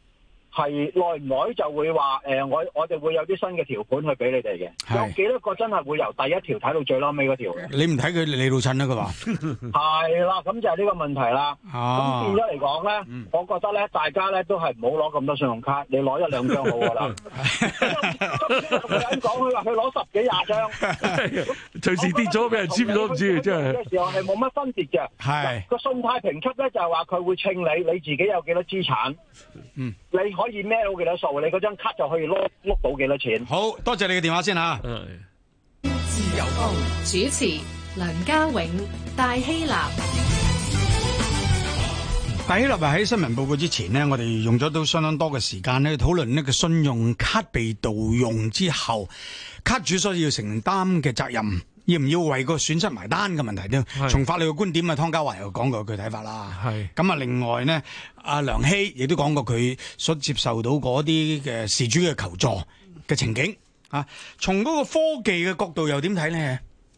係耐唔耐就會話我哋會有啲新嘅條款去俾你哋嘅。有幾多個真係會由第一條睇到最撈尾嗰條嘅？ 你唔睇佢你老襯啦，佢話係啦，咁就係呢個問題啦。咁變咗嚟講咧，我覺得咧，大家咧都係唔好攞咁多信用卡，你攞一兩張好噶啦。咁個人講佢話佢攞10幾20張， 隨時跌咗俾人簽咗唔知，真係嘅時候係冇乜分別嘅。係個信貸評出咧就係話佢會稱你自己有幾多資產，你可以孭到幾多數，你嗰張卡就可以碌到幾多錢。 好多謝你嘅電話先嚇。 自由風主持梁家永、戴希立。 戴希立喺新聞報告之前呢，我哋用咗都相當多嘅時間咧討論呢個信用卡被盜用之後，卡主所要承擔嘅責任，要唔要為個損失埋單嘅問題咧？從法律嘅觀點啊，湯家驊又講過佢睇法啦。係咁啊，另外呢，阿梁希亦都講過佢所接受到嗰啲嘅事主嘅求助嘅情景啊。從嗰個科技嘅角度又點睇呢？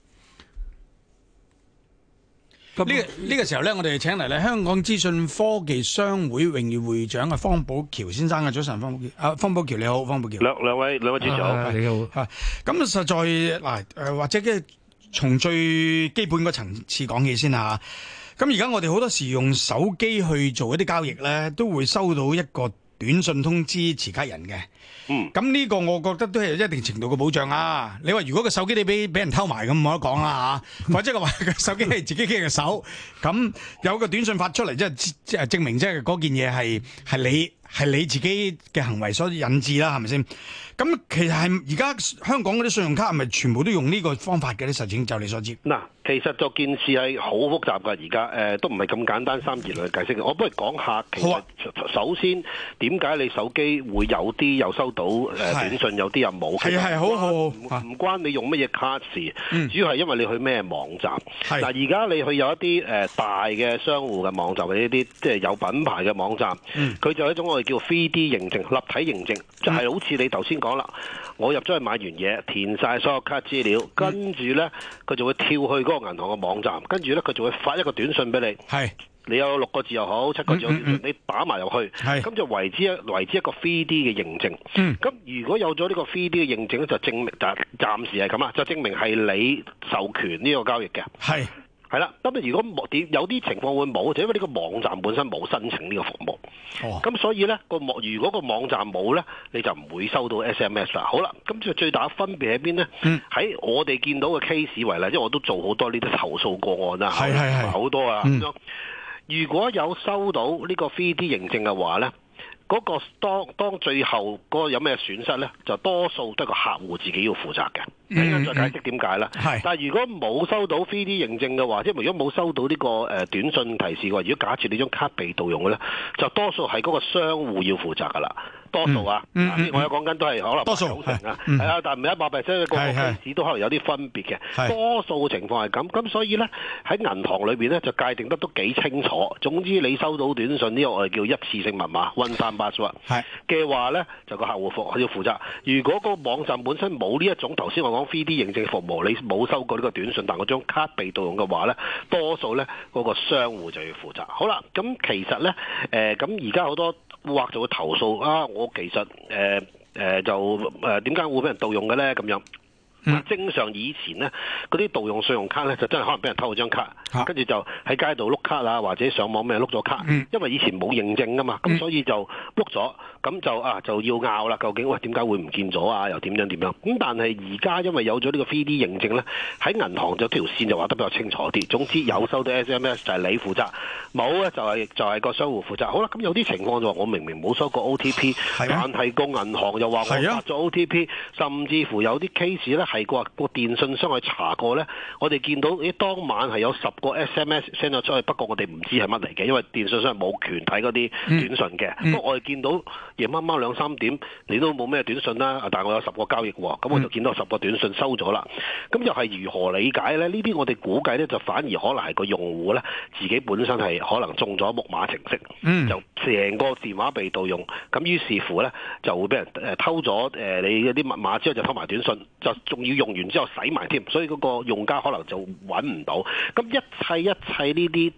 呢個時候咧，我哋請嚟咧香港資訊科技商會榮譽會長啊方保僑先生嘅。早晨，方保僑你好，方保僑。 兩位主持好， 你好。咁實在嗱或者嘅從最基本個層次講起先嚇。咁而家我哋好多時用手機去做一啲交易咧，都會收到一個短信通知持卡人嘅。咁呢個我覺得都係一定程度嘅保障啊！你話如果個手機你俾人偷埋咁冇得講啦嚇，或者話個手機係自己嘅手，咁有個短信發出嚟，即係證明即係嗰件嘢係你自己嘅行為所引致啦，係咪先？咁其實係而家香港嗰啲信用卡係咪全部都用呢個方法嘅咧？實情就你所知。 嗱，其實就件事係好複雜㗎，而家都唔係咁簡單三言嚟解釋嘅。我不如講下，其實首先點解你手機會有啲又收到短信，有啲又冇？係好，唔關你用乜嘢卡事，主要係因為你去咩網站。嗱，而家你去有一啲大嘅商戶嘅網站，或者一啲即係有品牌嘅網站，佢就有一種我哋叫 3D 認證、立體認證，就係好似你頭先講啦，我入咗去買完嘢，填晒所有卡資料，跟住呢，佢就會跳去嗰個銀行嘅網站，跟住呢，佢就會發一個短信俾你。係，你有6個字又好，7個字又好，你打埋入去，咁就為之一個 3D 嘅認證。咁如果有咗呢個 3D 嘅認證咧，就證明暫時係咁啊，就證明係你授權呢個交易嘅。係啦，咁如果有啲情況會冇，就因為呢個網站本身冇申請呢個服務。咁所以呢，如果個網站冇呢，你就唔會收到 SMS 啦。好啦，咁就最大分別喺邊呢？喺我哋見到嘅 case 為例，因為我都做好多呢啲投訴個案啦，好多啊咁樣。如果有收到呢個 3D 認證嘅話呢，嗰個當最後嗰個有咩損失呢，就多數都係個客戶自己要負責嘅。等陣再解釋點解啦。但係如果冇收到 3D 認證嘅話，即係如果冇收到呢個短信提示嘅話，如果假設你張卡被盜用嘅呢，就多數係嗰個商戶要負責㗎啦。多數啊，我有講緊都係可能多數90%啊，係啊，但係唔係100%，個個 case 都可能有啲分別嘅。多數情況係咁，咁所以咧喺銀行裏邊咧就界定得都幾清楚。總之你收到短信呢個我哋叫一次性密碼 one time password 嘅話咧，就個客戶要負責。如果個網站本身冇呢一種頭先我講 3D 認證服務，你冇收過呢個短信，但嗰張卡被盜用嘅話咧，多數咧嗰個商戶就要負責。好啦，咁其實咧咁而家好多戶客就會投訴啊，我其實點解會俾人盜用嘅咧？咁樣。正常以前呢，嗰啲盜用信用卡呢，就真係可能俾人偷咗張卡，跟住就喺街度碌卡啊，或者上網咩碌咗卡，因為以前冇認證噶嘛，咁所以就碌咗，咁就要拗啦。究竟喂點解會唔見咗啊？又點樣？咁但係而家因為有咗呢個 3D 認證呢，喺銀行就條線就畫得比較清楚啲。總之有收到 SMS 就係你負責，冇呢就係個商戶負責。好啦，咁有啲情況就話我明明冇收過 OTP，但係個銀行又話我發咗 OTP，甚至乎有啲 case 呢。係個電信商去查過呢，我哋見到當晚係有10個 SMS send 咗出去，不過我哋唔知係乜嚟嘅，因為電信商係冇權睇嗰啲短信嘅。不過我哋見到夜晚晚2、3點，你都冇咩短信啦，但係我有10個交易喎，咁我就見到10個短信收咗啦。咁又係如何理解呢？呢啲我哋估計呢，就反而可能係個用戶呢，自己本身係可能中咗木馬程式，就成個電話被盜用，咁於是乎呢，就會俾人偷咗你嗰啲密碼之後就偷埋短信，就仲要用完之後洗埋添，所以嗰個用家可能就揾唔到。咁一切呢啲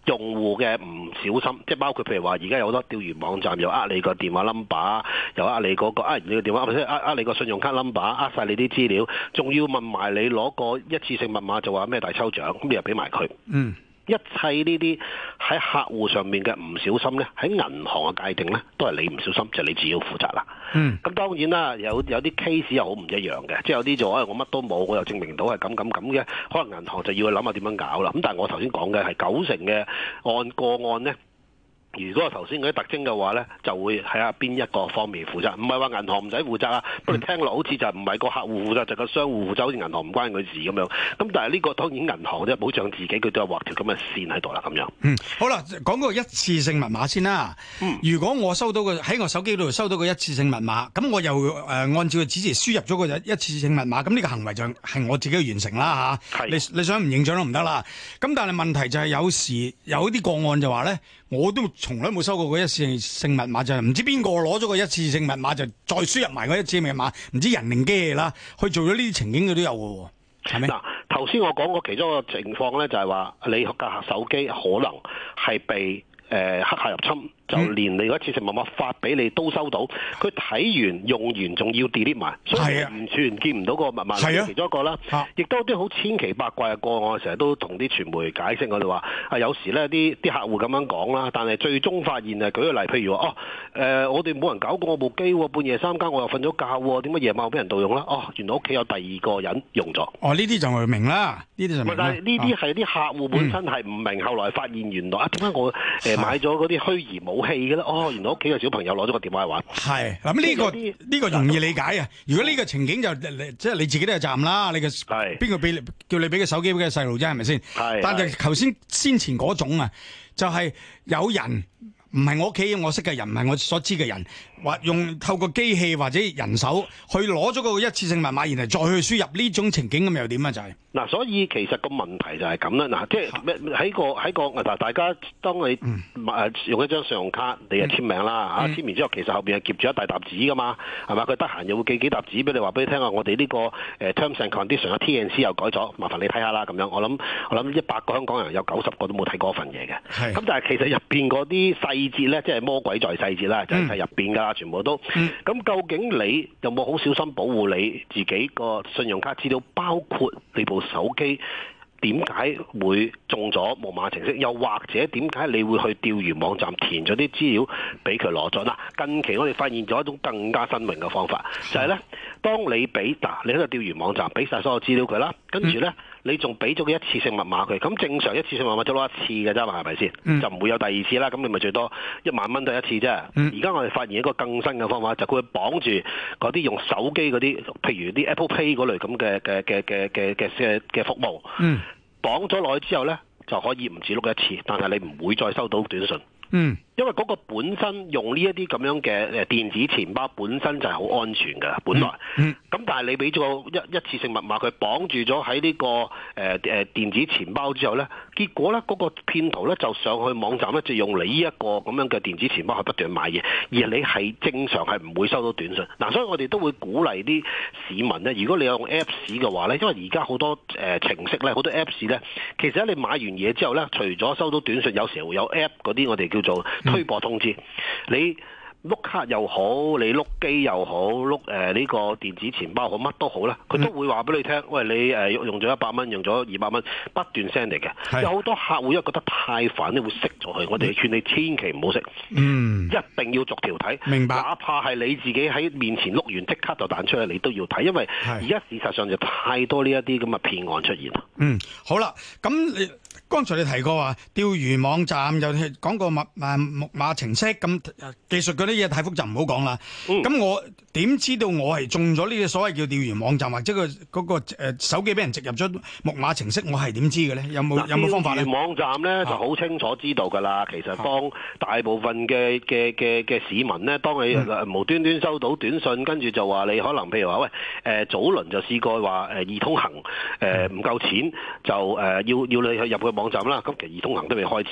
用戶嘅唔小心，即係包括譬如話，而家有好多釣魚網站又你個電話 number， 又你嗰個你個電話，或者你個信用卡 number， 晒你啲資料，仲要問埋你攞個一次性密碼，就話咩大抽獎，咁你又俾埋佢。一切呢啲喺客戶上面嘅唔小心咧，喺銀行嘅界定咧，都係你唔小心，就你自己要負責啦。咁當然啦，有啲 case 又好唔一樣嘅，即係有啲就我乜都冇，我又證明到係咁嘅，可能銀行就要去諗下點樣搞啦。咁但係我頭先講嘅係90%嘅個案咧。如果我頭先嗰啲特徵嘅話咧，就會睇下邊一個方面負責，唔係話銀行唔使負責啊。不過聽落好似就唔係個客戶負責，就個商戶負責，好似銀行唔關佢事咁樣。咁但係呢個當然銀行即係保障自己，佢都有畫條咁嘅線喺度啦，咁樣。 好啦，講個一次性密碼先啦。如果我收到喺我手機度收到個一次性密碼，咁我又按照佢指示輸入咗個一次性密碼，咁呢個行為就係我自己完成啦嚇。你想唔認賬都唔得啦。咁但係問題就係有時有啲個案就話咧，我都從來冇收過個一次性密碼，就係唔知邊個攞咗個一次性密碼就再輸入埋個一次性密碼，唔知人定機啦，去做咗呢啲情景佢都有嘅喎，係咪？嗱， 頭先我講過其中一個情況咧，就係話你架手機可能係被黑客入侵。就連你嗰一次性密碼發俾你都收到，佢睇完用完仲要 delete 埋，所以完全見唔到個密碼。係其中一個啦，亦都有啲好千奇百怪嘅個案，我成日都同啲傳媒解釋，我哋話有時咧啲客戶咁樣講啦，但係最終發現舉個例，譬如話我哋冇人搞過我部機喎，半夜3更我又瞓咗覺喎，點解夜晚俾人盜用啦？原來屋企有第二個人用咗。呢啲就明啦，呢啲就明啦。 但係呢啲係啲客戶本身係唔明，後來發現原來點解我買咗嗰啲虛擬武器嘅咧？原來屋企嘅小朋友攞咗個電話去玩。係咁呢個容易理解啊！如果呢個情景就即係你自己都有責任啦，你嘅邊個叫你俾個手機俾個細路啫？係咪先？但係頭先前嗰種啊，就係有人唔係我屋企我識嘅人，唔係我所知嘅人，或用透過機器或者人手去攞咗個一次性密碼，然後再去輸入呢種情景咁又點啊？就係嗱，所以其實個問題就係咁啦。嗱，即係喺個嗱，大家當你用一張信用卡，你就簽名啦嚇，簽完之後其實後邊係夾住一大沓紙噶嘛，係嘛？佢得閒又會寄幾沓紙俾你，話俾你聽啊，我哋呢個terms and conditions 嘅 T&C 又改咗，麻煩你睇下啦咁樣。我諗100個香港人有90個都冇睇過份嘢嘅。咁但係其實入邊嗰啲細節咧，即係魔鬼在細節啦，就係入邊㗎，全部都。咁究竟你有冇好小心保護你自己個信用卡資料，包括你部手機點解會中咗木馬程式，又或者點解你會去釣魚網站填咗啲資料俾佢攞咗？嗱，近期我哋發現咗一種更加新穎嘅方法，就係咧，當你俾你喺個釣魚網站俾晒所有資料佢啦，跟住咧你仲俾咗個一次性密碼佢，咁正常一次性密碼就攞一次嘅啫嘛，係咪先？就唔會有第二次啦，咁你咪最多1萬蚊都一次啫。而家我哋發現一個更新嘅方法，就佢會綁住嗰啲用手機嗰啲，譬如啲 Apple Pay 嗰類咁嘅服務。綁咗落去之後咧，就可以唔止碌一次，但係你唔會再收到短信。因為嗰個本身用呢一啲咁樣嘅電子錢包本身就係好安全嘅，本來。咁但係你俾咗一次性密碼佢綁住咗喺呢個電子錢包之後咧，結果咧嗰個騙徒咧就上去網站咧就用你呢一個咁樣嘅電子錢包去不斷買嘢，而你係正常係唔會收到短信。嗱，所以我哋都會鼓勵啲市民咧，如果你有用 Apps 嘅話咧，因為而家好多程式咧，好多 Apps 咧，其實你買完嘢之後咧，除咗收到短信，有時會有 App 嗰啲我哋叫做推播通知，你碌卡又好，你碌機又好，碌呢個電子錢包好，乜都好啦，佢都會話俾你聽，喂，你用咗100蚊，用咗200蚊，不斷 send 嚟嘅。有好多客戶因為覺得太煩，你會熄咗佢。我哋勸你千祈唔好熄，一定要逐條睇。明白。哪怕係你自己喺面前碌完即刻就彈出嚟，你都要睇，因為而家事實上就太多呢一啲咁嘅騙案出現啦。 好啦，咁你剛才你提過話釣魚網站又講過木馬程式，咁技術嗰啲嘢太複雜唔好講啦。咁我點知道我係中咗呢個所謂叫釣魚網站，或者嗰個手機俾人植入咗木馬程式，我係點知嘅咧？有冇方法咧？釣魚網站咧就好清楚知道㗎啦。其實當大部分嘅市民咧，當你無端端收到短信，跟住就話你可能譬如話喂早輪就試過話易通行唔夠錢，就要你去入去網站啦。咁其實易通行都未開始。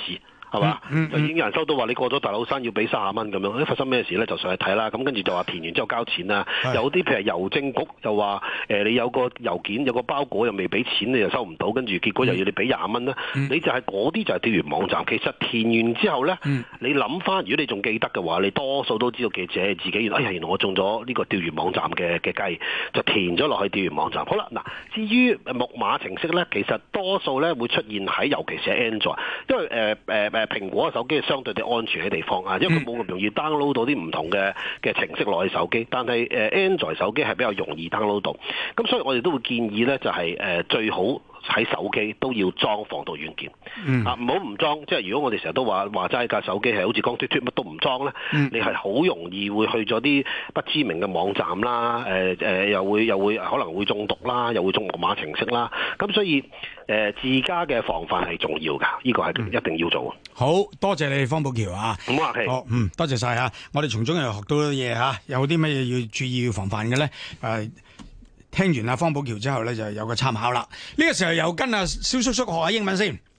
係嘛？就已經有人收到話你過咗大老山要俾30蚊咁樣，發生咩事咧？就上去睇啦。咁跟住就話填完之後交錢啦。有啲譬如郵政局就話你有個郵件有個包裹又未俾錢，你又收唔到，跟住結果又要你俾20蚊啦。你就係嗰啲就係釣魚網站。其實填完之後咧，你諗翻，如果你仲記得嘅話，你多數都知道記者自己原來我中咗呢個釣魚網站嘅雞，就填咗落去釣魚網站。好啦，嗱，至於木馬程式咧，其實多數咧會出現喺尤其是係 Android，因為蘋果嘅手機係相對地安全嘅地方啊，因為佢冇咁容易 download 到啲唔同嘅程式落去手機，但係Android 手機係比較容易 download 到，咁所以我哋都會建議咧，就係最好喺手機都要裝防盜軟件，唔好唔裝。即係如果我哋成日都話齋架手機係好似光脫脫乜都唔裝咧，你係好容易會去咗啲不知名嘅網站啦，又會可能會中毒啦，又會中木馬程式啦。咁所以自家嘅防範係重要㗎，呢個係一定要做。 好多謝你方保僑啊！ 唔好客氣。 好，多謝晒啊！我哋從中又學到嘢嚇，有啲乜嘢要注意要防範嘅咧？聽完阿方保僑之後咧，就有個參考啦。呢個時候又跟阿蕭叔叔學下英文先。